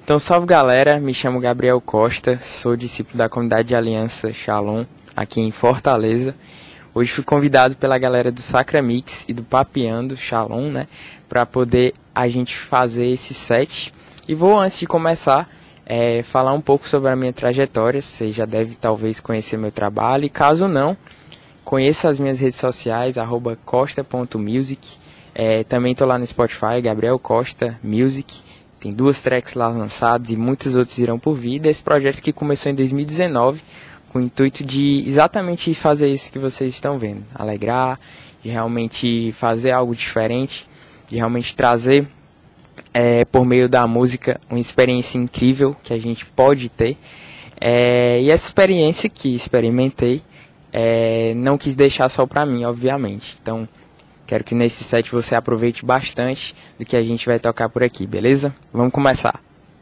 Então, salve galera, me chamo Gabriel Costa, sou discípulo da comunidade de Aliança Shalom, aqui em Fortaleza. Hoje fui convidado pela galera do Sacra Mix e do Papeando Shalom, né, para poder a gente fazer esse set. E vou, antes de começar, falar um pouco sobre a minha trajetória. Você já deve talvez conhecer meu trabalho, e caso não, conheça as minhas redes sociais, @costa.music. Também estou lá no Spotify, Gabriel Costa Music. Tem 2 tracks lá lançadas e muitos outros irão por vir. Desse projeto que começou em 2019, com o intuito de exatamente fazer isso que vocês estão vendo. Alegrar, de realmente fazer algo diferente, de realmente trazer, por meio da música, uma experiência incrível que a gente pode ter. E essa experiência que experimentei, não quis deixar só pra mim, obviamente. Então, quero que nesse set você aproveite bastante do que a gente vai tocar por aqui, beleza? Vamos começar.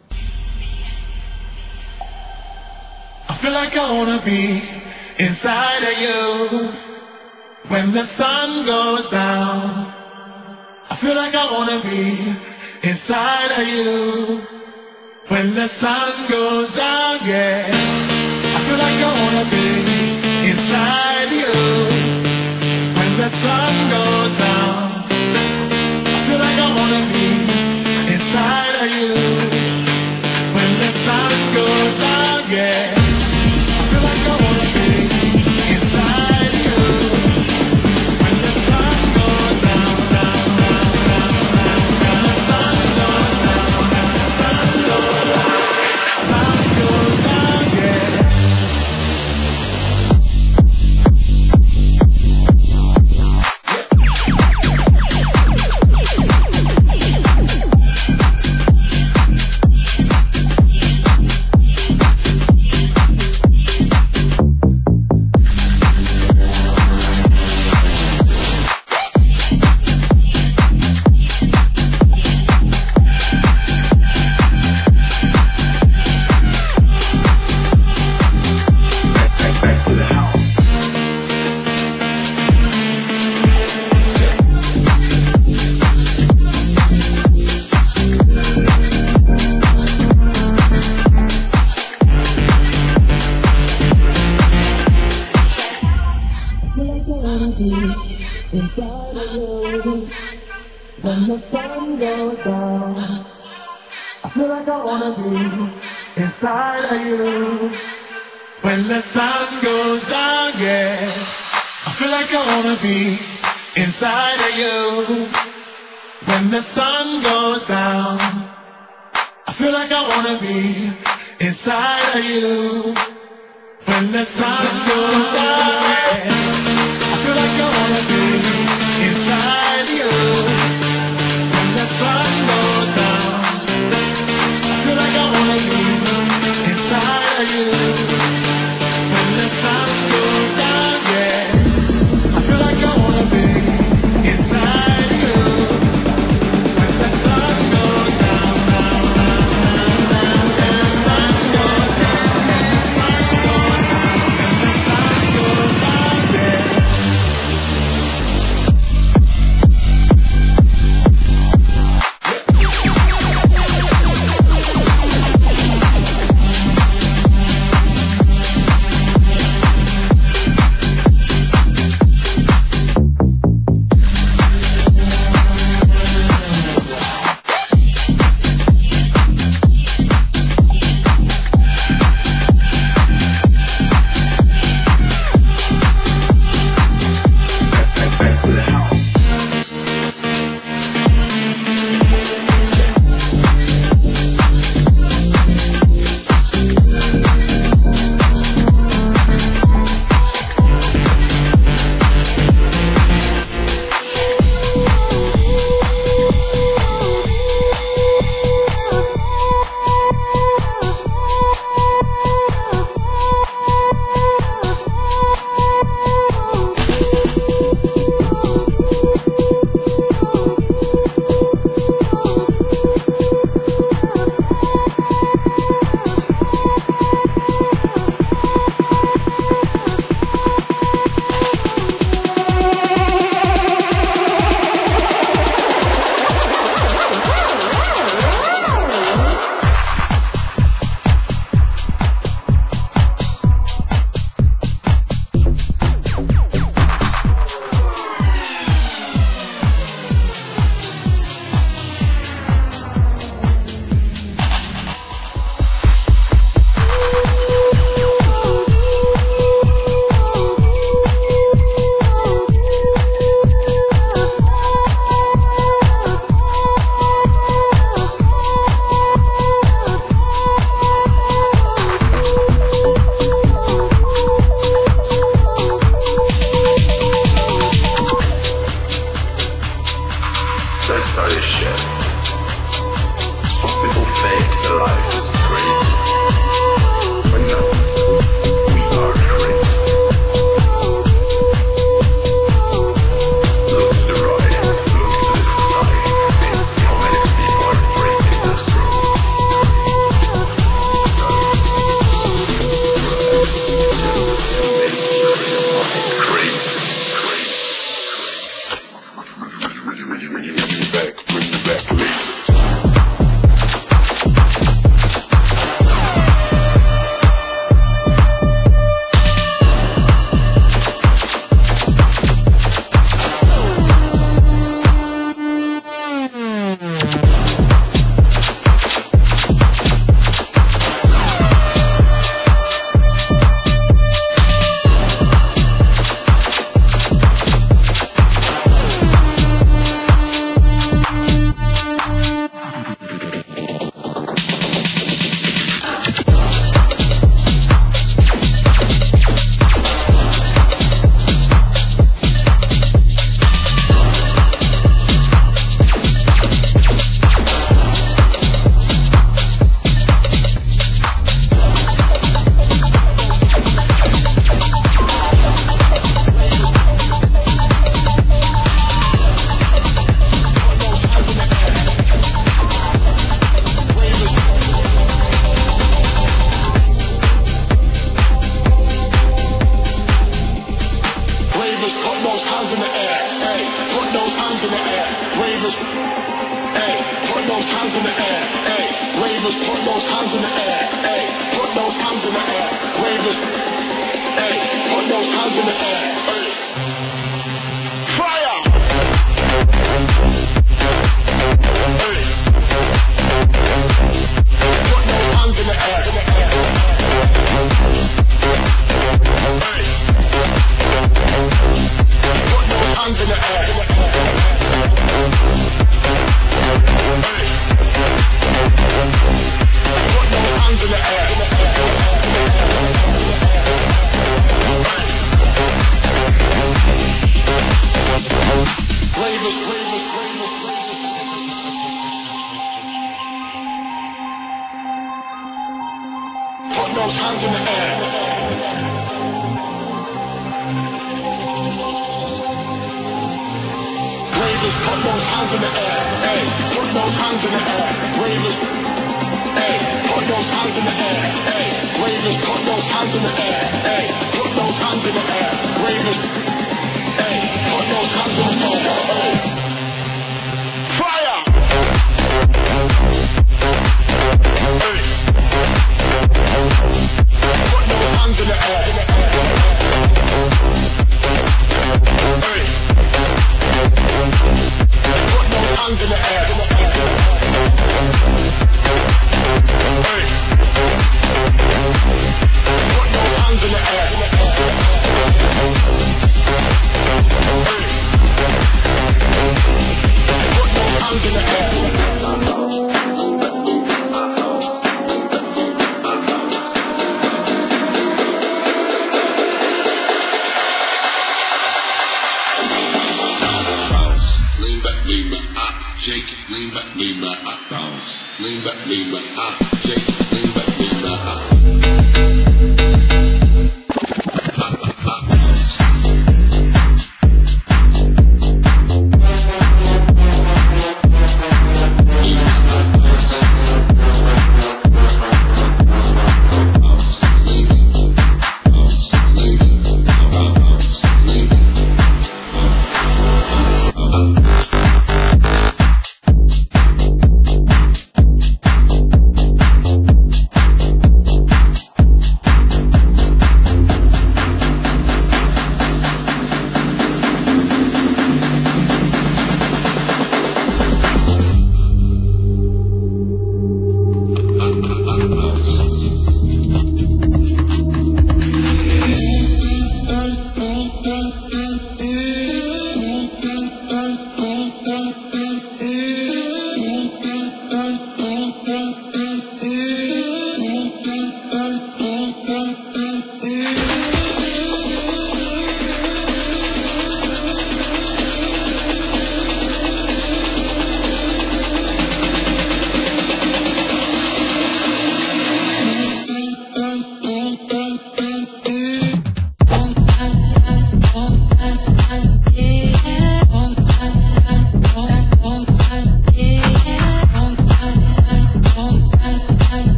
I feel like I wanna be inside of you when the sun goes down. I feel like I wanna be inside of you when the sun goes down, yeah. I feel like I wanna be inside you when the sun goes down. I feel like I wanna be inside of you when the sun goes down, yeah. I feel like I wanna be inside you when the sun goes down, down, down, down, down. When the sun goes down, when the sun goes down, sun goes down, yeah. When the sun goes down, I feel like I wanna be inside of you. When the sun goes down, yeah. I feel like I wanna be inside of you. When the sun goes down, I feel like I wanna be inside of you. When the sun goes down, yeah. I feel like I wanna be inside you. When the sun goes down, I feel like I wanna be inside of you. When the sun goes down, yeah. I feel like I wanna be inside you. When the sun goes down, down, down, down, down. When the sun goes down, when the sun goes down, when the sun goes down, yeah.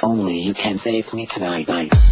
Only you can save me tonight.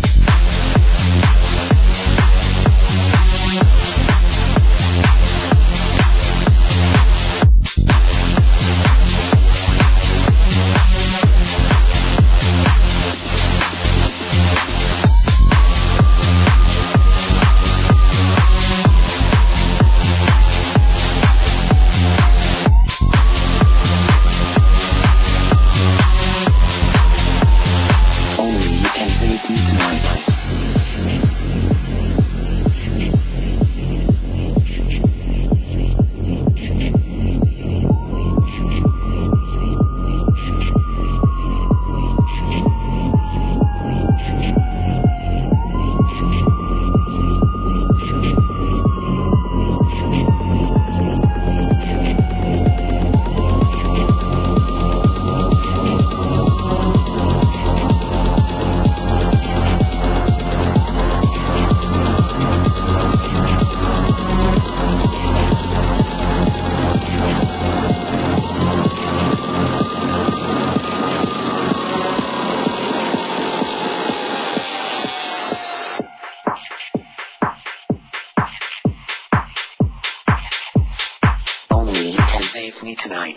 Save me tonight.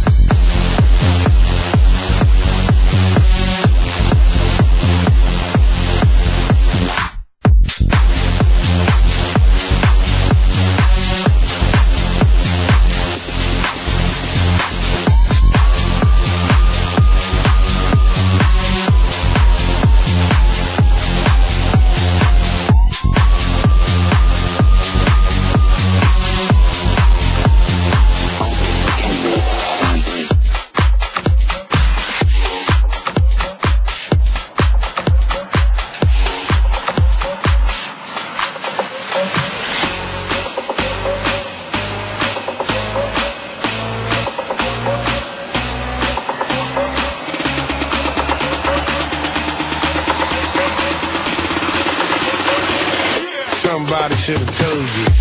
Somebody should have told you.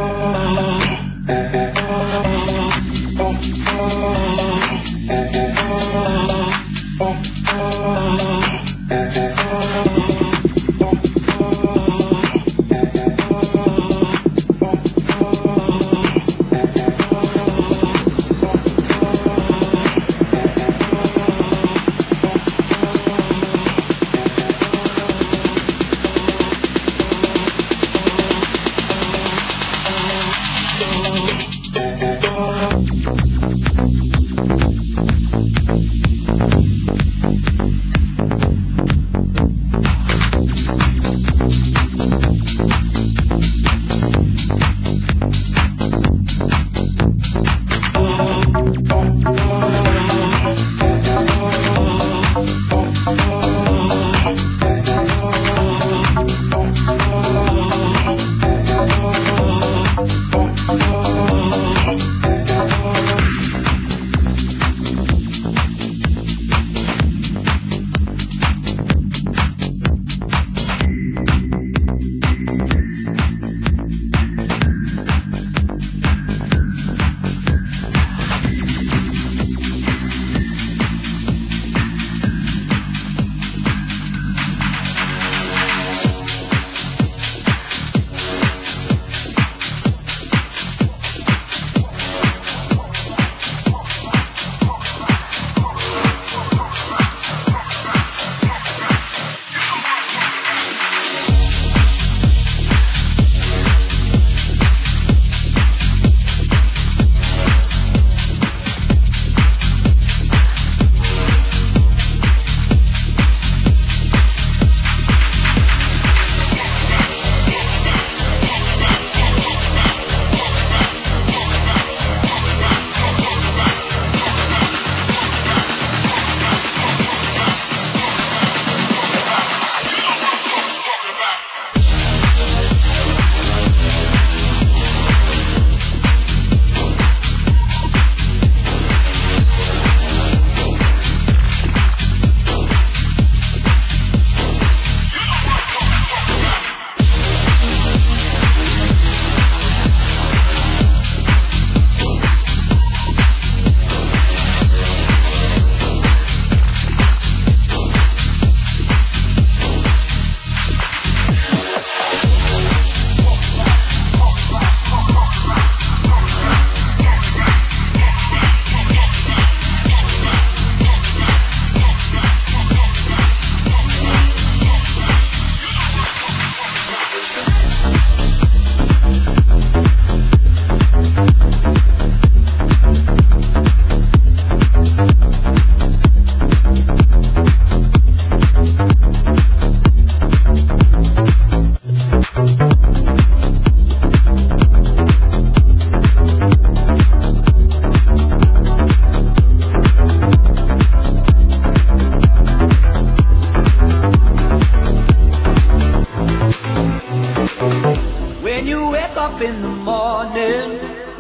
up in the morning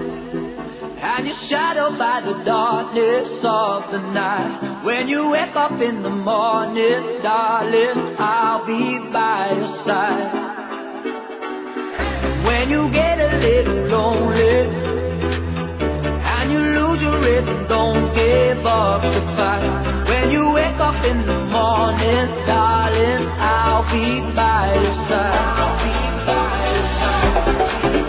and you're shadowed by the darkness of the night. When you wake up in the morning, darling, I'll be by your side. When you get a little lonely and you lose your rhythm, don't give up the fight. When you wake up in the morning, darling, I'll be by your side. I'll be by your side.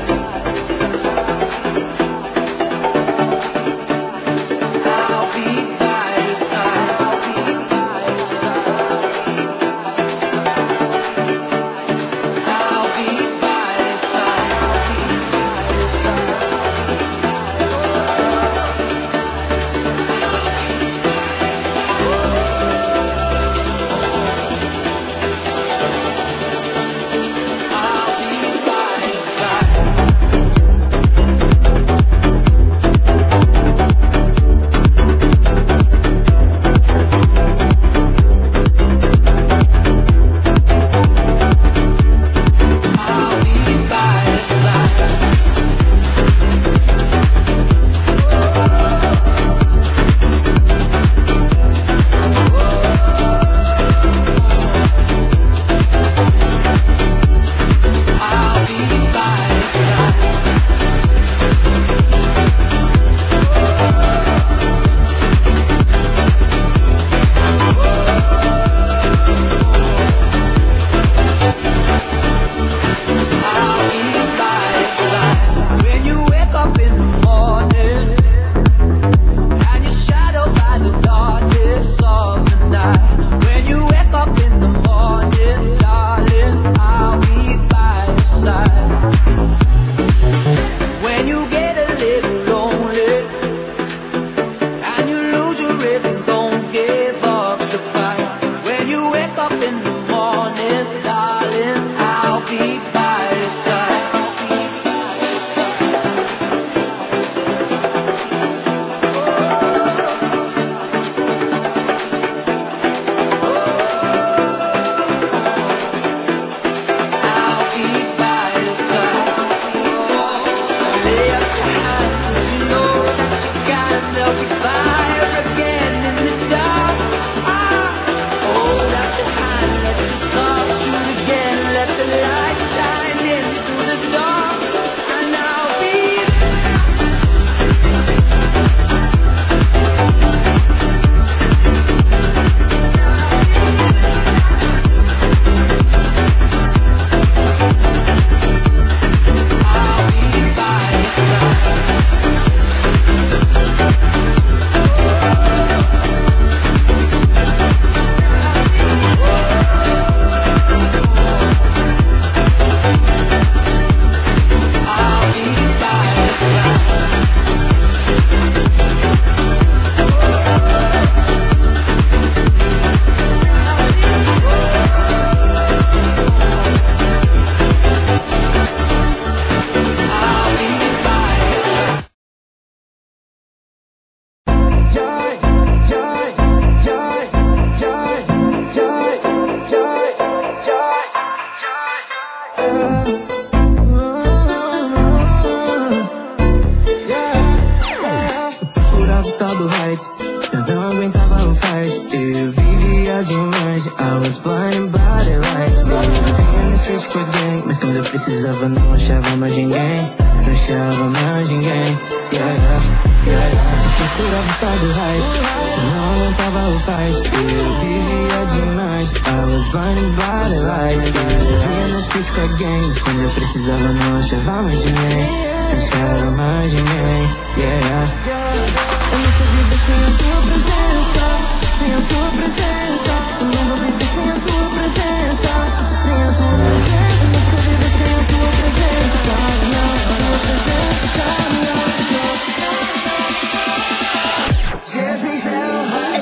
não achava mais ninguém. Procurava estar do hype, não aguentava o fight. Eu vivia demais, I was blinded by the lights. Vivia nas streets com a gang, quando eu precisava não achava mais ninguém. Não achava mais ninguém. Eu não sei viver sem a tua presença, sem a tua presença. Eu não vou viver sem a tua presença, sem a tua presença. Eu não sei viver sem a tua presença, não, a tua presença, não. Jesus é o rei.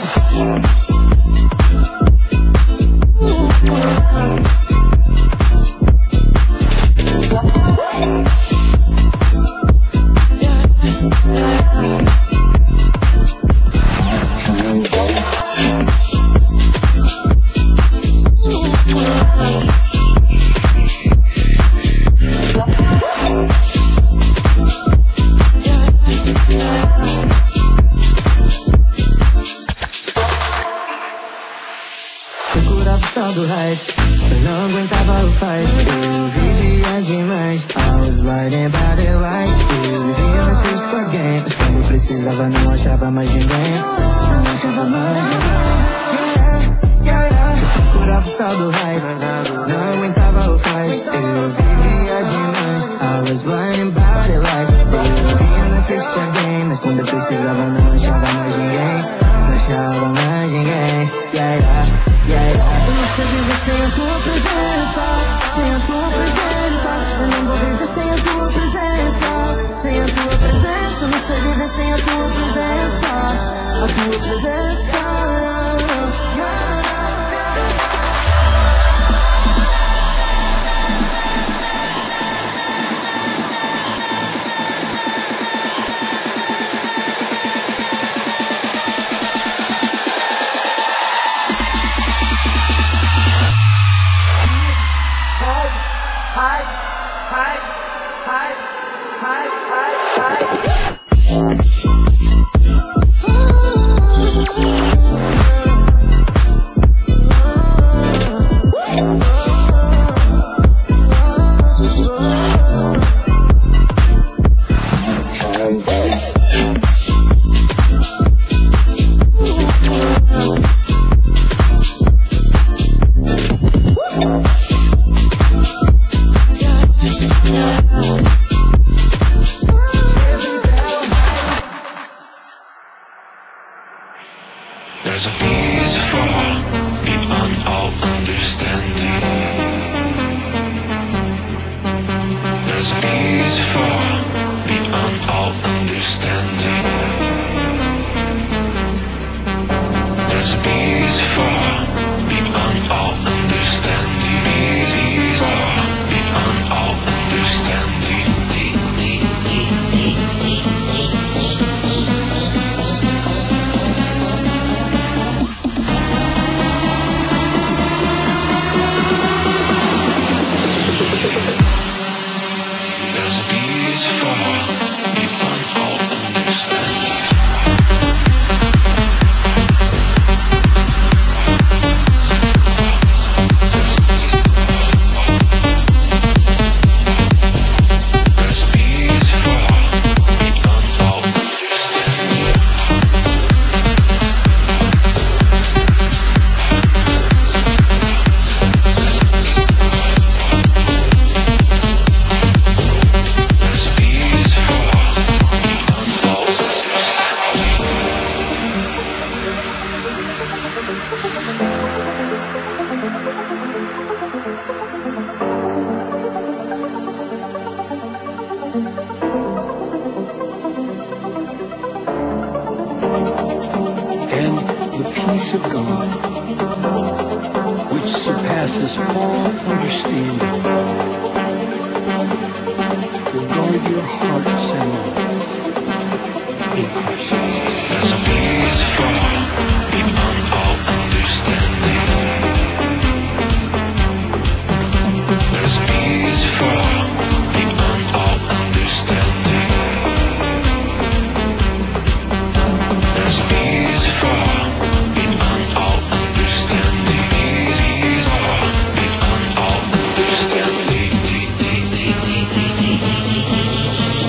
Do hype, eu não aguentava o fight. Eu vivia demais, I was blinded by the lights. Eu vivia nas streets com a gang, mas quando eu precisava não achava mais ninguém. Não achava mais ninguém. Procurava o tal do hype, não aguentava o fight. Eu vivia demais, I was blinded by the lights. Eu vivia nas streets com a gang, mas quando eu precisava não achava mais ninguém. Não achava mais ninguém. Eu não sei viver sem a tua presença, sem a tua presença. Eu não vou viver sem a tua presença, sem a tua presença. Eu não sei viver sem a tua presença, a tua presença. There's a peace far beyond all understanding. There's a peace far beyond all understanding. There's a peace far beyond all understanding. Peace far beyond all understanding. And the peace of God, which surpasses all understanding, will guard your hearts and minds in Christ Jesus. There's a peace far beyond all understanding. There's a peace far beyond all understanding. There's a peace far beyond all understanding. Peace far beyond all understanding.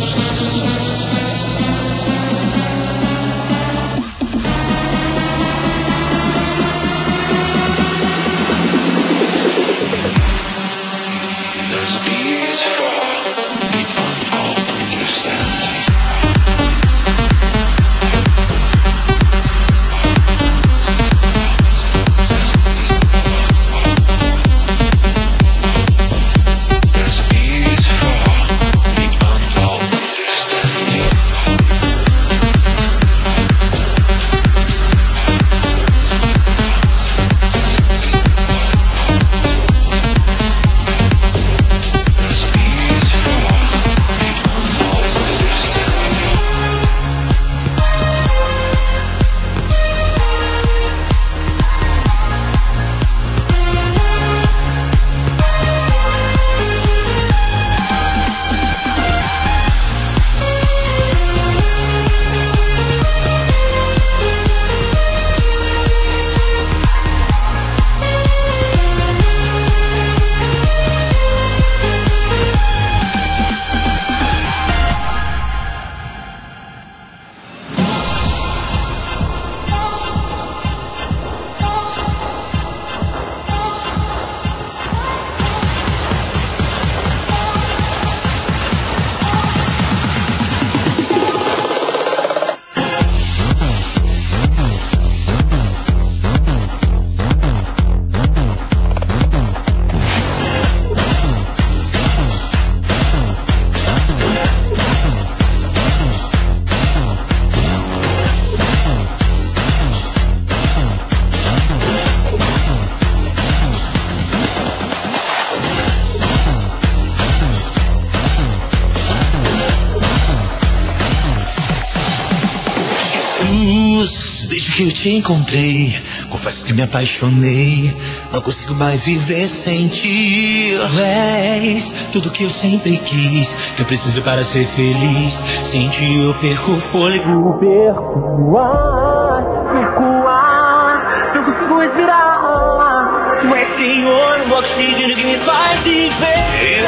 que eu te encontrei, confesso que me apaixonei. Não consigo mais viver sem ti. Tu és tudo que eu sempre quis, que eu preciso para ser feliz. Sem ti eu perco o fôlego, perco o ar, não consigo respirar. Tu és, Senhor, o oxigênio que me faz viver.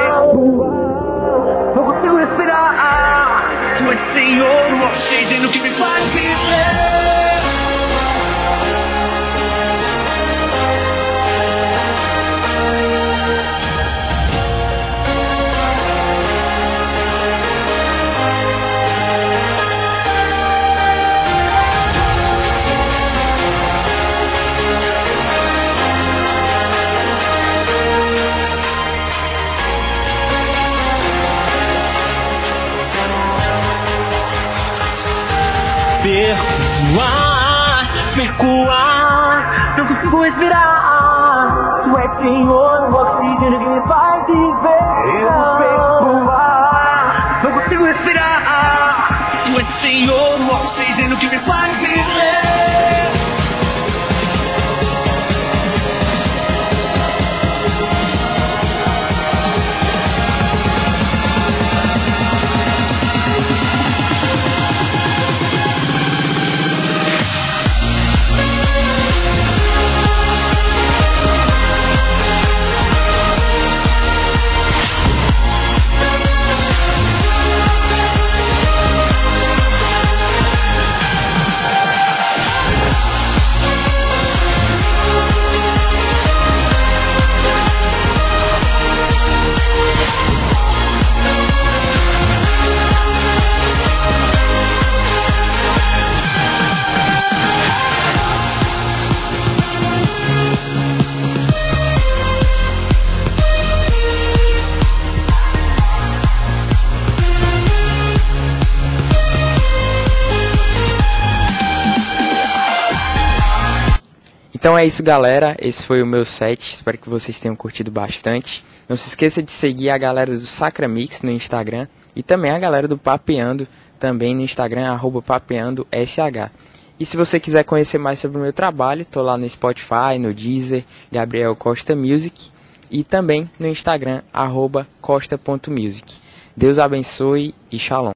Não consigo respirar. Tu és, Senhor, o oxigênio que me faz viver. Perco o ar, não consigo respirar. Tu és, Senhor, o oxigênio que me faz viver. Eu perco o ar, não consigo respirar. Tu és, Senhor, o oxigênio que me faz viver. Então é isso, galera, esse foi o meu set, espero que vocês tenham curtido bastante. Não se esqueça de seguir a galera do Sacra Mix no Instagram e também a galera do Papeando também no Instagram, @papeandosh. E se você quiser conhecer mais sobre o meu trabalho, tô lá no Spotify, no Deezer, Gabriel Costa Music e também no Instagram, @costa.music. Deus abençoe e shalom.